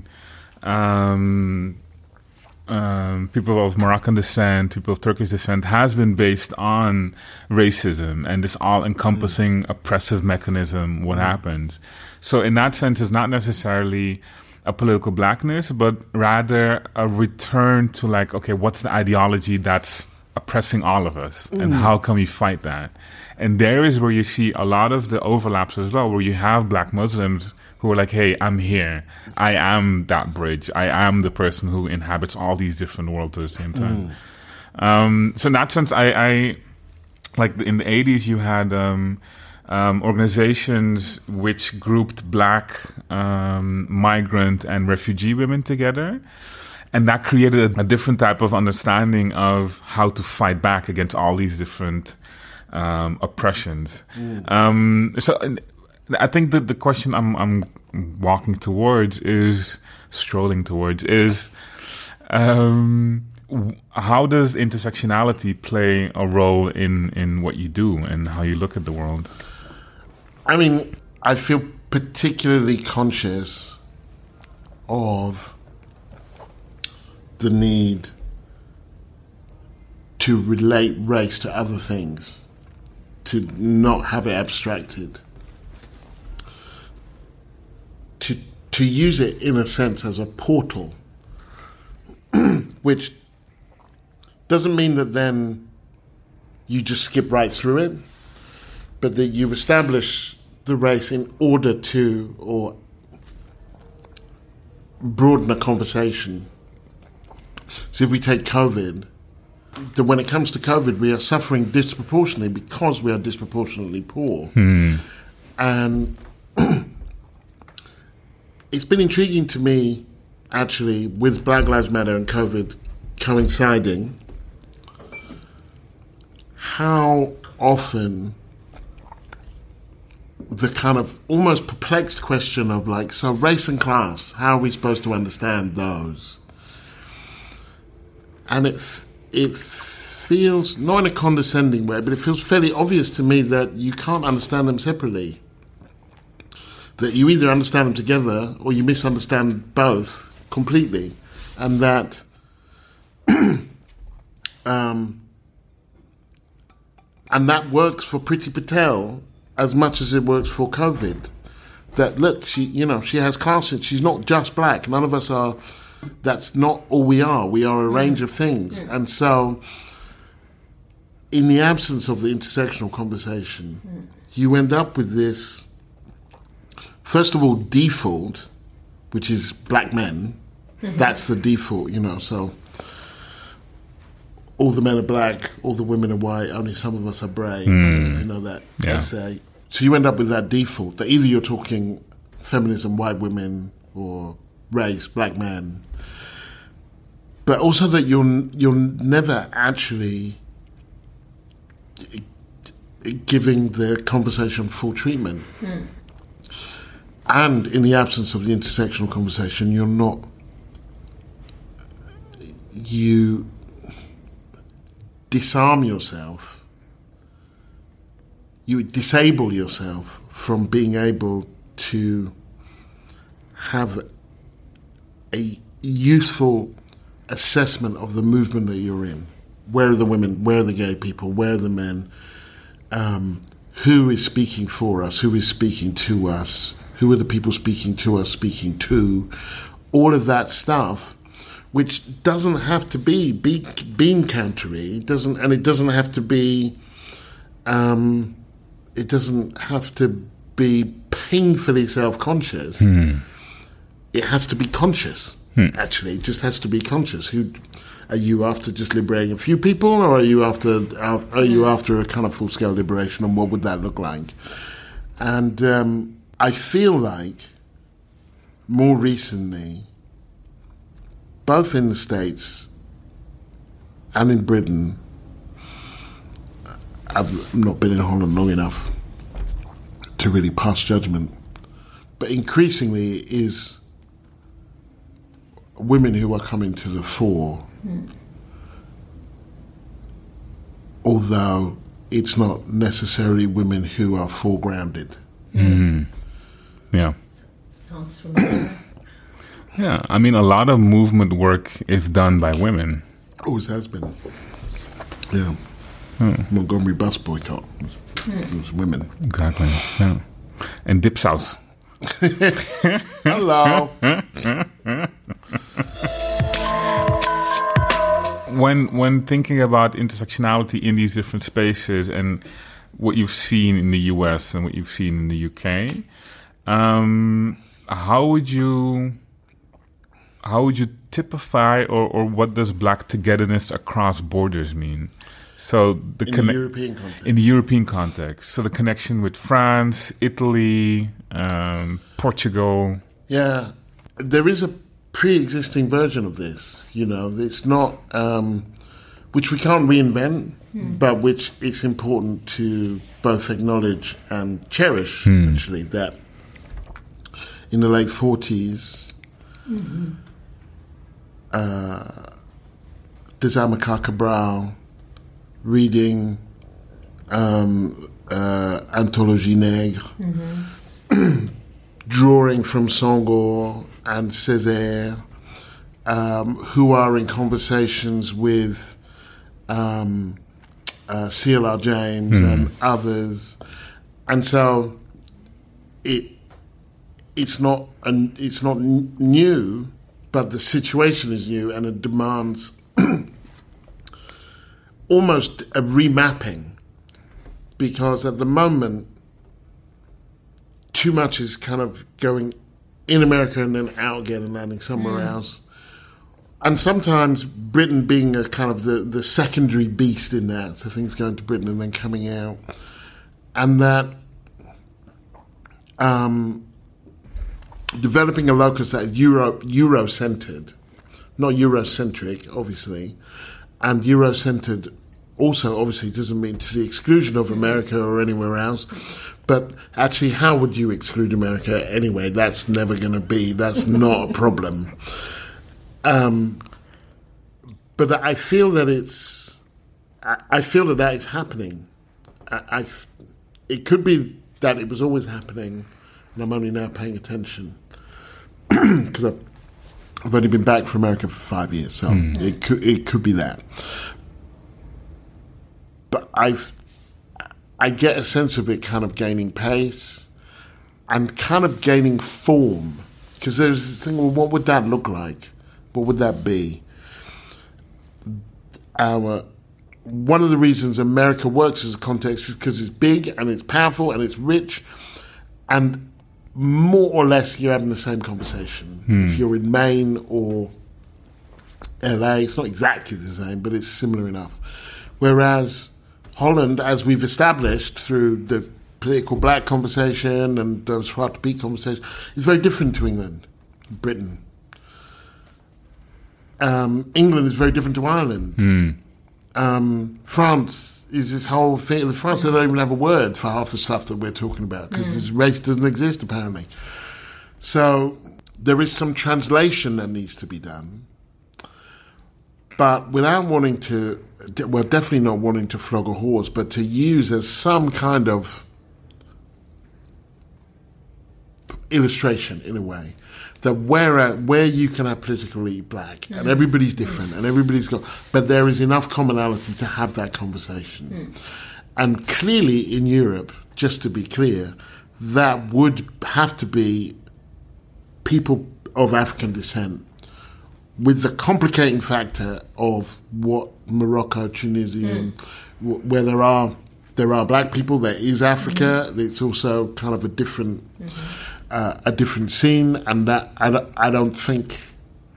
um, um, people of Moroccan descent, people of Turkish descent, has been based on racism and this all-encompassing mm. oppressive mechanism, what mm. happens. So in that sense, it's not necessarily a political blackness, but rather a return to like, okay, what's the ideology that's oppressing all of us, mm. and how can we fight that? And there is where you see a lot of the overlaps as well, where you have black Muslims who are like, hey, I'm here. I am that bridge. I am the person who inhabits all these different worlds at the same time. Mm. Um, so in that sense, I, I like in the eighties, you had um, um, organizations which grouped black, um, migrant, and refugee women together. And that created a, a different type of understanding of how to fight back against all these different um, oppressions. Mm. Um, so I think that the question I'm, I'm walking towards is, strolling towards, is Um, how does intersectionality play a role in, in what you do and how you look at the world? I mean, I feel particularly conscious of the need to relate race to other things, to not have it abstracted, to to use it in a sense as a portal, which doesn't mean that then you just skip right through it, but that you establish the race in order to or broaden a conversation. So if we take COVID, that when it comes to COVID, we are suffering disproportionately because we are disproportionately poor. Hmm. And it's been intriguing to me, actually, with Black Lives Matter and COVID coinciding, how often the kind of almost perplexed question of like, so race and class, how are we supposed to understand those? And it it feels, not in a condescending way, but it feels fairly obvious to me that you can't understand them separately. That you either understand them together or you misunderstand both completely. And that um, and that works for Priti Patel as much as it works for COVID. That, look, she, you know, she has class, she's not just black. None of us are, that's not all we are. We are a range of things. And so, in the absence of the intersectional conversation, you end up with this, first of all, default, which is black men. Mm-hmm. That's the default, you know, so all the men are black, all the women are white, only some of us are brave, mm. you know, that yeah. essay. So you end up with that default, that either you're talking feminism, white women, or race, black man, but also that you're, you're never actually giving the conversation full treatment. Mm. And in the absence of the intersectional conversation, you're not, you disarm yourself, you disable yourself from being able to have a useful assessment of the movement that you're in. Where are the women? Where are the gay people? Where are the men? Um, who is speaking for us? Who is speaking to us? Who are the people speaking to us, speaking to? All of that stuff, which doesn't have to be be- bean countery, doesn't, and it doesn't have to be, um, it doesn't have to be painfully self-conscious. Mm. It has to be conscious. Mm. Actually, it just has to be conscious. Who are you after? Just liberating a few people, or are you after? Are you after a kind of full-scale liberation? And what would that look like? And um, I feel like more recently, both in the States and in Britain, I've not been in Holland long enough to really pass judgment, but increasingly is women who are coming to the fore, mm. although it's not necessarily women who are foregrounded. Mm. Yeah. Sounds familiar. Yeah, I mean, a lot of movement work is done by women. Always has been. Yeah. Oh. Montgomery bus boycott. It was, mm. it was women. Exactly. Yeah. And Dipsaus. Hello. when when thinking about intersectionality in these different spaces and what you've seen in the U S and what you've seen in the U K, um, how would you how would you typify or, or what does black togetherness across borders mean? So the in conne- the European context. In the European context. So the connection with France, Italy, um, Portugal. Yeah. There is a pre-existing version of this, you know. It's not, um, which we can't reinvent, mm. but which it's important to both acknowledge and cherish, mm. actually, that in the late forties, mm-hmm. uh, des Amilcar Cabral, reading um, uh, Anthologie Nègre, mm-hmm. drawing from Senghor and Césaire, um, who are in conversations with um, uh, C L R James mm. and others. And so it it's not an, it's not n- new, but the situation is new, and it demands almost a remapping, because at the moment too much is kind of going in America and then out again and landing somewhere mm. else. And sometimes Britain being a kind of the, the secondary beast in that, so things going to Britain and then coming out. And that um, developing a locus that is Euro, Euro-centred, not Eurocentric, obviously, and Euro-centred also obviously doesn't mean to the exclusion of America or anywhere else. But actually, how would you exclude America anyway? That's never going to be, that's not a problem. Um, but I feel that it's, I, I feel that that is happening. I, I, it could be that it was always happening, and I'm only now paying attention because I've, I've only been back from America for five years, so mm. it could it could be that. But I've. I get a sense of it kind of gaining pace and kind of gaining form. Because there's this thing, well, what would that look like? What would that be? Our one of the reasons America works as a context is because it's big and it's powerful and it's rich, and more or less you're having the same conversation. Hmm. If you're in Maine or L A, it's not exactly the same, but it's similar enough. Whereas Holland, as we've established through the political black conversation and those far to be conversation, is very different to England, Britain. Um, England is very different to Ireland. Mm. Um, France is this whole thing. France, they don't even have a word for half the stuff that we're talking about because mm. this race doesn't exist, apparently. So there is some translation that needs to be done. But without wanting to, well, definitely not wanting to flog a horse, but to use as some kind of illustration, in a way, that where where you can have politically black, mm. and everybody's different, and everybody's got, but there is enough commonality to have that conversation. Mm. And clearly in Europe, just to be clear, that would have to be people of African descent, with the complicating factor of what Morocco, Tunisia, mm. where there are there are black people, there is Africa. Mm-hmm. It's also kind of a different mm-hmm. uh, a different scene, and that I don't, I don't think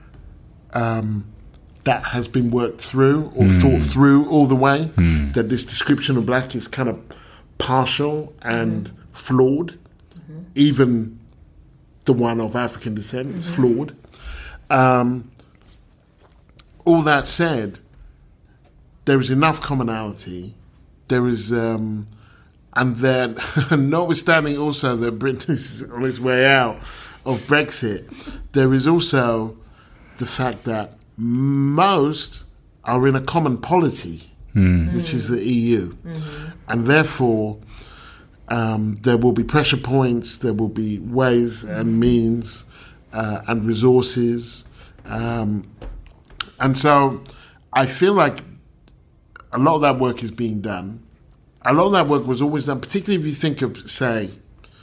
um, that has been worked through or mm. thought through all the way. Mm. That this description of black is kind of partial and mm. flawed. Mm-hmm. Even the one of African descent mm-hmm. is flawed. Um, All that said, there is enough commonality. There is, um, and then, notwithstanding also that Britain is on its way out of Brexit, there is also the fact that most are in a common polity, mm. which is the E U. Mm-hmm. And therefore, um, there will be pressure points, there will be ways and means uh, and resources. Um, And so I feel like a lot of that work is being done. A lot of that work was always done, particularly if you think of, say,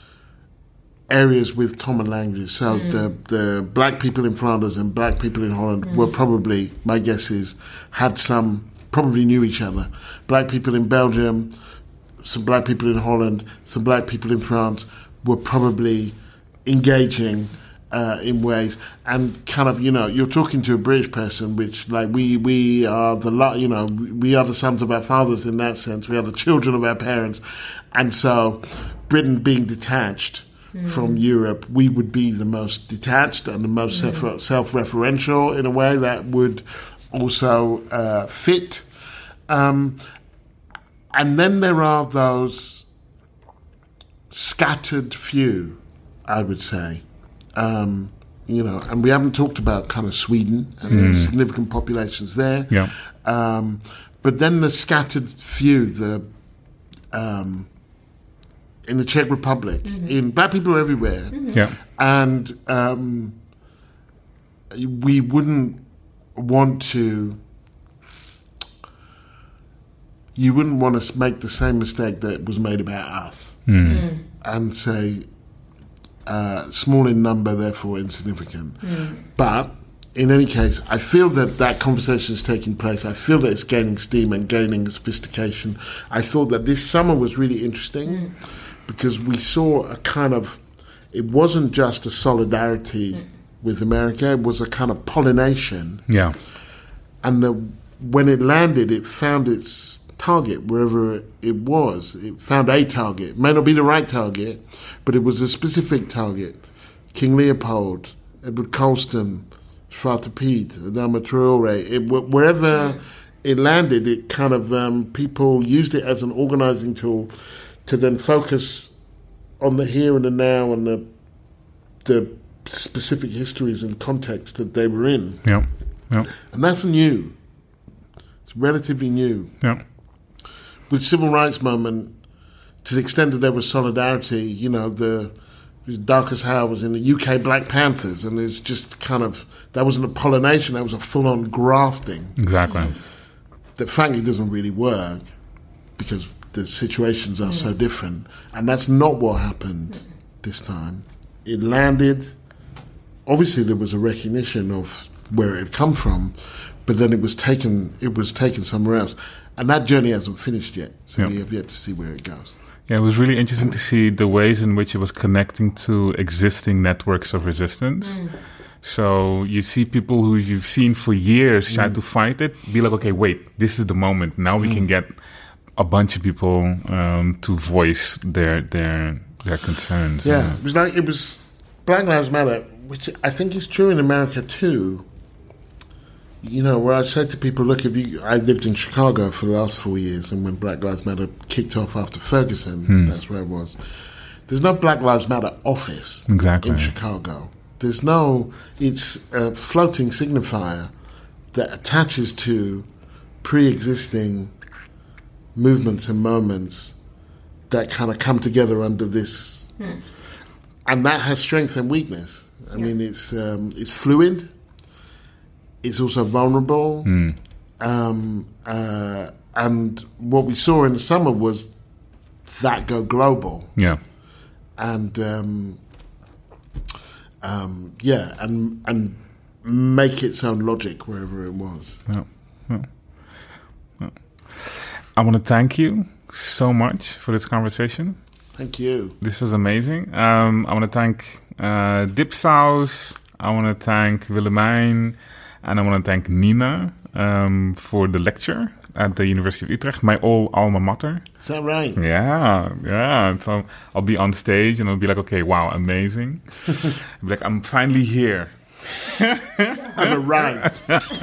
areas with common languages. So mm. the, the black people in Flanders and black people in Holland mm. were probably, my guess is, had some, probably knew each other. Black people in Belgium, some black people in Holland, some black people in France were probably engaging Uh, in ways, and kind of, you know, you're talking to a British person, which, like, we we are the, you know, we are the sons of our fathers in that sense. We are the children of our parents, and so Britain being detached mm. from Europe, we would be the most detached and the most mm. self, self-referential in a way that would also uh, fit. Um, and then there are those scattered few, I would say. Um, you know, and we haven't talked about kind of Sweden and mm. the significant populations there. Yeah. Um, but then the scattered few, the um, in the Czech Republic, mm-hmm. in black people are everywhere, mm-hmm. yeah, and um, we wouldn't want to. You wouldn't want to make the same mistake that was made about us, mm. Mm. and say uh, small in number, therefore insignificant. Mm. But in any case, I feel that that conversation is taking place. I feel that it's gaining steam and gaining sophistication. I thought that this summer was really interesting mm. because we saw a kind of, it wasn't just a solidarity mm. with America, it was a kind of pollination. Yeah. And the, when it landed, it found its target wherever it was. It found a target. It may not be the right target, but it was a specific target. King Leopold, Edward Colston, Zwarte Piet, Adama Traore. It, wherever mm. it landed, it kind of, um, people used it as an organizing tool to then focus on the here and the now and the the specific histories and contexts that they were in. Yeah, yeah. And that's new. It's relatively new. Yeah. With civil rights movement, to the extent that there was solidarity, you know, the Darkest Hour was in the U K Black Panthers, and it's just kind of, that wasn't a pollination, that was a full-on grafting. Exactly. That frankly doesn't really work because the situations are so different. And that's not what happened this time. It landed, obviously there was a recognition of where it had come from, but then it was taken it was taken somewhere else. And that journey hasn't finished yet, so yep. we have yet to see where it goes. Yeah, it was really interesting to see the ways in which it was connecting to existing networks of resistance. Mm. So you see people who you've seen for years try mm. to fight it, be like, okay, wait, this is the moment. Now we mm. can get a bunch of people um, to voice their their their concerns. Yeah, yeah, it was like, it was Black Lives Matter, which I think is true in America too. You know, where I said to people, look, if you, I lived in Chicago for the last four years, and when Black Lives Matter kicked off after Ferguson, hmm. that's where I was. There's no Black Lives Matter office exactly. in Chicago. There's no, it's a floating signifier that attaches to pre-existing movements and moments that kind of come together under this. Hmm. And that has strength and weakness. I yeah. mean, it's um, it's fluid. It's also vulnerable. Mm. Um, uh, and what we saw in the summer was that go global. Yeah. And, um, um, yeah, and and make its own logic wherever it was. Yeah. Yeah. Yeah. I want to thank you so much for this conversation. Thank you. This was amazing. Um, I want to thank uh, Dipsaus. I want to thank Willemijn. And I want to thank Nina um, for the lecture at the University of Utrecht, my old alma mater. Is that right? Yeah, yeah. So I'll be on stage and I'll be like, okay, wow, amazing. I'll be like, I'm finally here. I've arrived.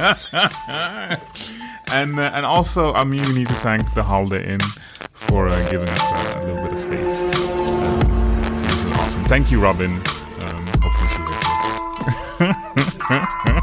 and uh, and also, I mean, we need to thank the Holiday Inn for uh, giving us uh, a little bit of space. Um, it's really awesome. Thank you, Robin. Um, hopefully she hears this.